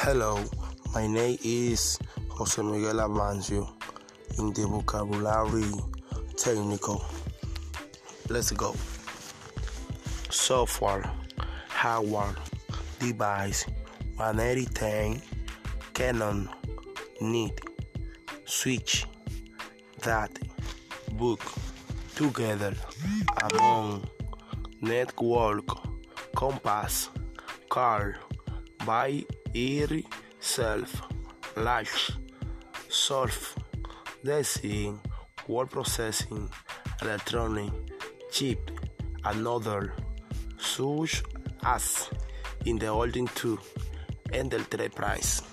Hello, my name is Jose Miguel Avancio in the vocabulary technical. Let's go. Software, hardware, device, 18010, Canon, need, switch, that, book, together, among, network, compass, car, by self, large, solve, design, word processing, electronic, chip, another, such as in the holding 2, Enterprise.